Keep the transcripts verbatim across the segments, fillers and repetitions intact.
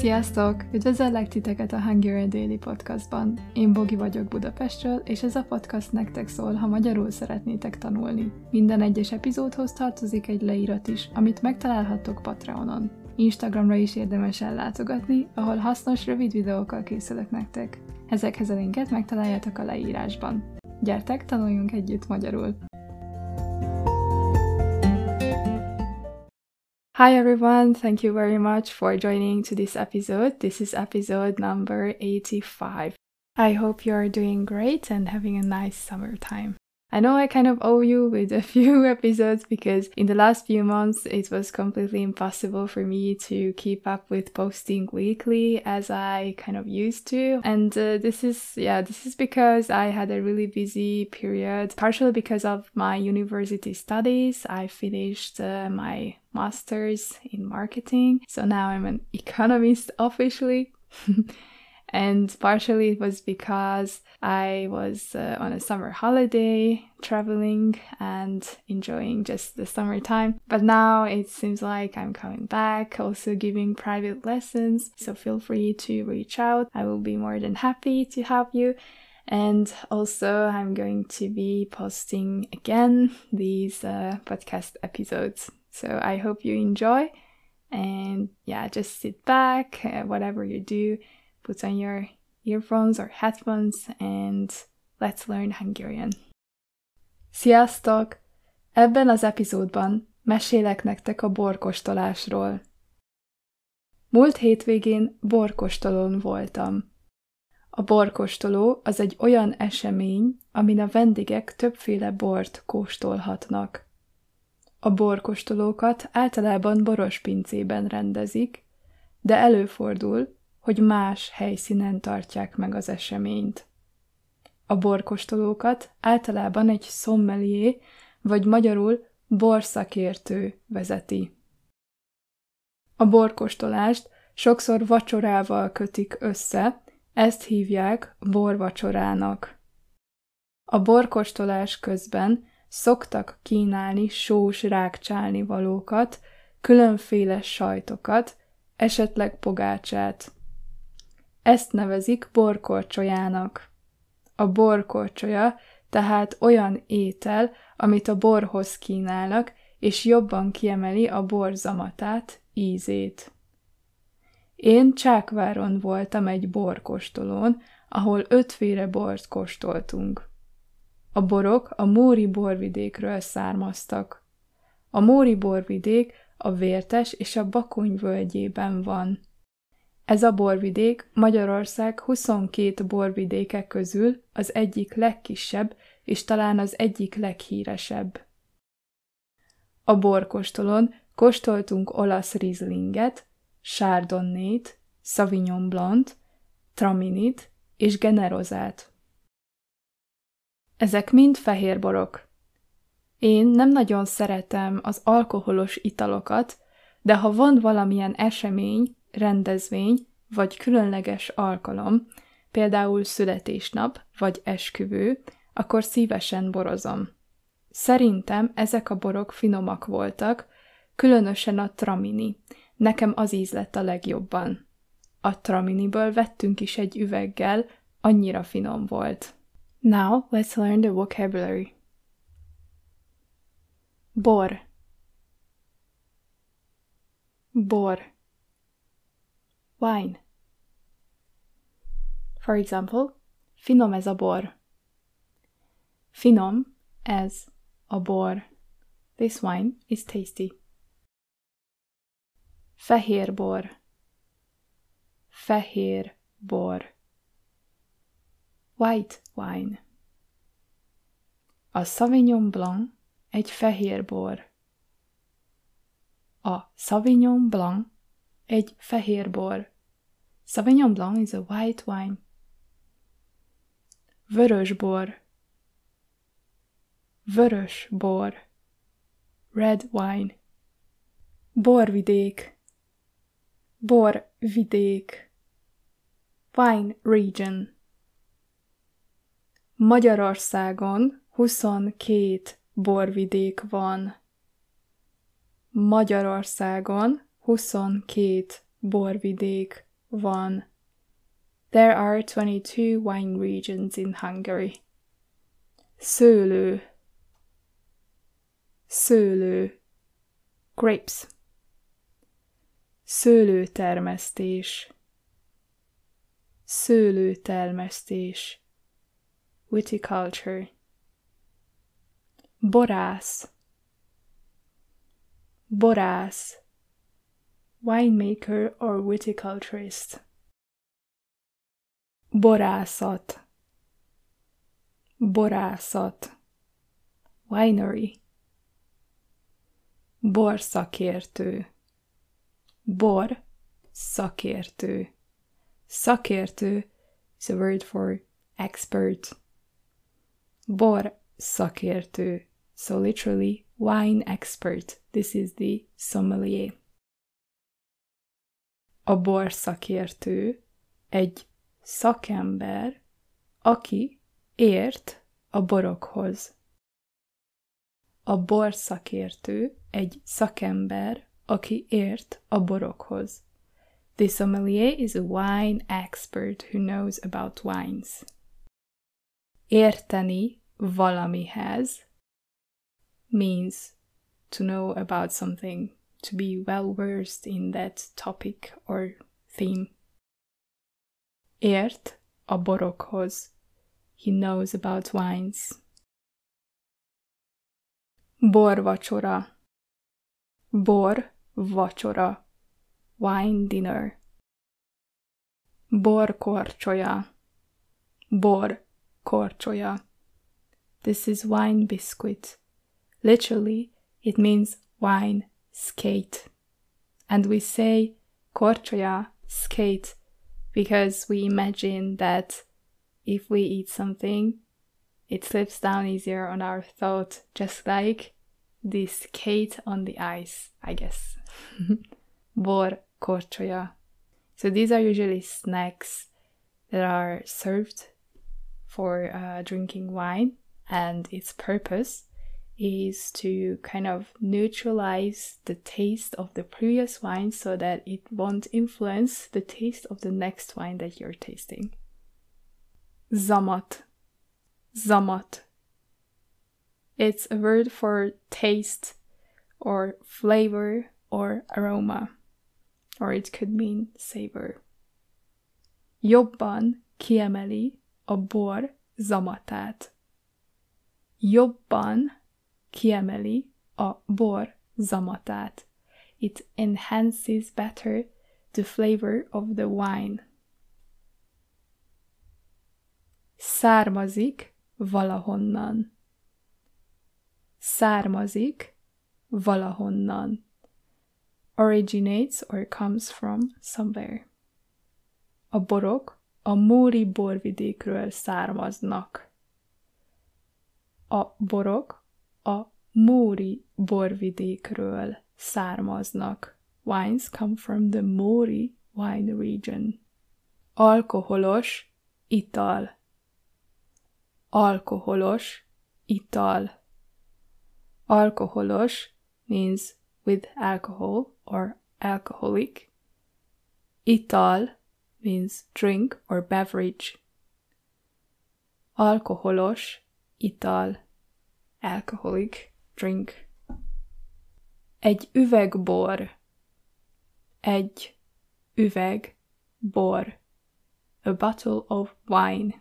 Sziasztok! Üdvözöllek titeket a Hungarian Daily Podcastban. Én Bogi vagyok Budapestről, és ez a podcast nektek szól, ha magyarul szeretnétek tanulni. Minden egyes epizódhoz tartozik egy leírat is, amit megtalálhattok Patreonon. Instagramra is érdemes ellátogatni, ahol hasznos, rövid videókkal készülök nektek. Ezekhez a linket megtaláljátok a leírásban. Gyertek, tanuljunk együtt magyarul! Hi everyone, thank you very much for joining to this episode. This is episode number eighty-five. I hope you are doing great and having a nice summertime. I know I kind of owe you with a few episodes because in the last few months it was completely impossible for me to keep up with posting weekly as I kind of used to. And uh, this is, yeah, this is because I had a really busy period, partially because of my university studies. I finished uh, my master's in marketing, so now I'm an economist officially. And partially it was because I was uh, on a summer holiday, traveling and enjoying just the summertime. But now it seems like I'm coming back, also giving private lessons. So feel free to reach out. I will be more than happy to help you. And also I'm going to be posting again these uh, podcast episodes. So I hope you enjoy. And yeah, just sit back, uh, whatever you do. Put on your earphones or headphones and let's learn Hungarian. Sziasztok! Ebben az epizódban mesélek nektek a borkóstolásról. Múlt hétvégén borkóstolón voltam. A borkóstoló az egy olyan esemény, amin a vendégek többféle bort kóstolhatnak. A borkóstolókat általában borospincében rendezik, de előfordul, hogy más helyszínen tartják meg az eseményt. A borkóstolókat általában egy sommelier, vagy magyarul borszakértő vezeti. A borkóstolást sokszor vacsorával kötik össze, ezt hívják borvacsorának. A borkóstolás közben szoktak kínálni sós rágcsálni valókat, különféle sajtokat, esetleg pogácsát. Ezt nevezik borkorcsolyának. A borkorcsolya tehát olyan étel, amit a borhoz kínálnak, és jobban kiemeli a bor zamatát, ízét. Én Csákváron voltam egy borkóstolón, ahol ötféle bort kóstoltunk. A borok a Móri borvidékről származtak. A Móri borvidék a Vértes és a Bakony völgyében van. Ez a borvidék Magyarország huszonkét borvidéke közül az egyik legkisebb és talán az egyik leghíresebb. A borkóstolón kóstoltunk olasz Rieslinget, Chardonnayt, Sauvignon Blanc-t, Traminit és Generosát. Ezek mind fehér borok. Én nem nagyon szeretem az alkoholos italokat, de ha van valamilyen esemény, rendezvény vagy különleges alkalom, például születésnap vagy esküvő, akkor szívesen borozom. Szerintem ezek a borok finomak voltak, különösen a Tramini. Nekem az ízlett a legjobban. A Traminiből vettünk is egy üveggel, annyira finom volt. Now let's learn the vocabulary. Bor. Bor. Wine. For example, finom ez a bor. Finom ez a bor. This wine is tasty. Fehér bor. Fehér bor. White wine. A Sauvignon Blanc egy fehér bor. A Sauvignon Blanc egy fehér bor. Sauvignon Blanc is a white wine. Vörös bor. Vörös bor. Red wine. Borvidék. Borvidék. Wine region. Magyarországon huszonkét borvidék van. Magyarországon huszonkét borvidék van. There are twenty-two wine regions in Hungary. Szőlő, szőlő, grapes. Szőlőtermesztés, szőlőtermesztés, viticulture. Borász, borász, winemaker or viticulturist. Borászat, borászat, winery. Borszakértő, bor szakértő. Szakértő is a word for expert. Bor szakértő, so literally wine expert. This is the sommelier. A bor szakértő egy szakember, aki ért a borokhoz. A bor szakértő egy szakember, aki ért a borokhoz. The sommelier is a wine expert who knows about wines. Érteni valamihez means to know about something, to be well versed in that topic or theme. Ért a borokhoz. He knows about wines. Borvacsora, bor vacsora, wine dinner. Bor korcsolya, bor korcsolya. This is wine biscuit. Literally, it means wine skate. And we say korcsolya, skate, because we imagine that if we eat something, it slips down easier on our throat, just like the skate on the ice, I guess. Bor korcsolya. So these are usually snacks that are served for uh, drinking wine, and its purpose is to kind of neutralize the taste of the previous wine so that it won't influence the taste of the next wine that you're tasting. Zamat. Zamat. It's a word for taste or flavor or aroma, or it could mean savor. Jobban kiemeli a bor zamatát. Jobban kiemeli a bor zamatát. It enhances better the flavor of the wine. Származik valahonnan. Származik valahonnan. Originates or comes from somewhere. A borok a móri borvidékről származnak. A borok a móri borvidékről származnak. Wines come from the Mori wine region. Alkoholos ital. Alkoholos ital. Alkoholos means with alcohol or alcoholic. Ital means drink or beverage. Alkoholos ital. Alcoholic drink. Egy üveg bor. Egy üveg bor. A bottle of wine.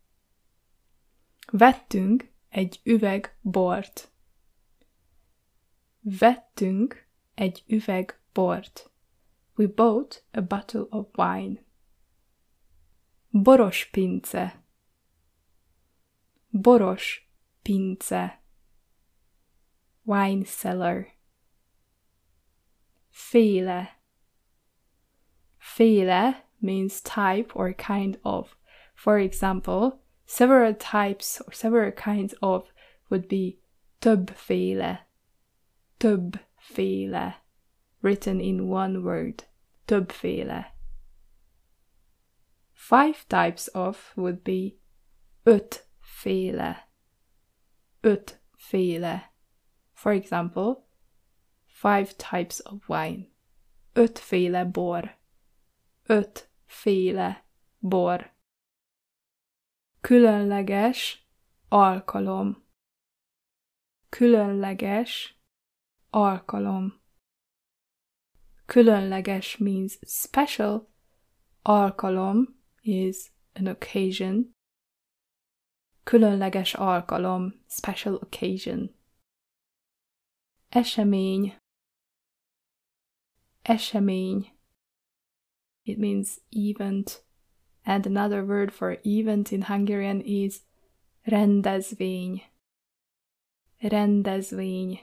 Vettünk egy üveg bort. Vettünk egy üveg bort. We bought a bottle of wine. Boros pince. Boros pince. Wine cellar. Féle. Féle means type or kind of. For example, several types or several kinds of would be többféle. Többféle. Written in one word. Többféle. Five types of would be ötféle. Ötféle. For example, five types of wine. Ötféle bor. féle bor. Különleges alkalom. Különleges alkalom. Különleges means special. Alkalom is an occasion. Különleges alkalom, special occasion. Esemény. Esemény. It means event. And another word for event in Hungarian is rendezvény. Rendezvény.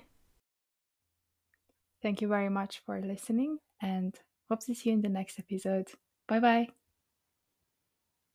Thank you very much for listening and hope to see you in the next episode. Bye bye!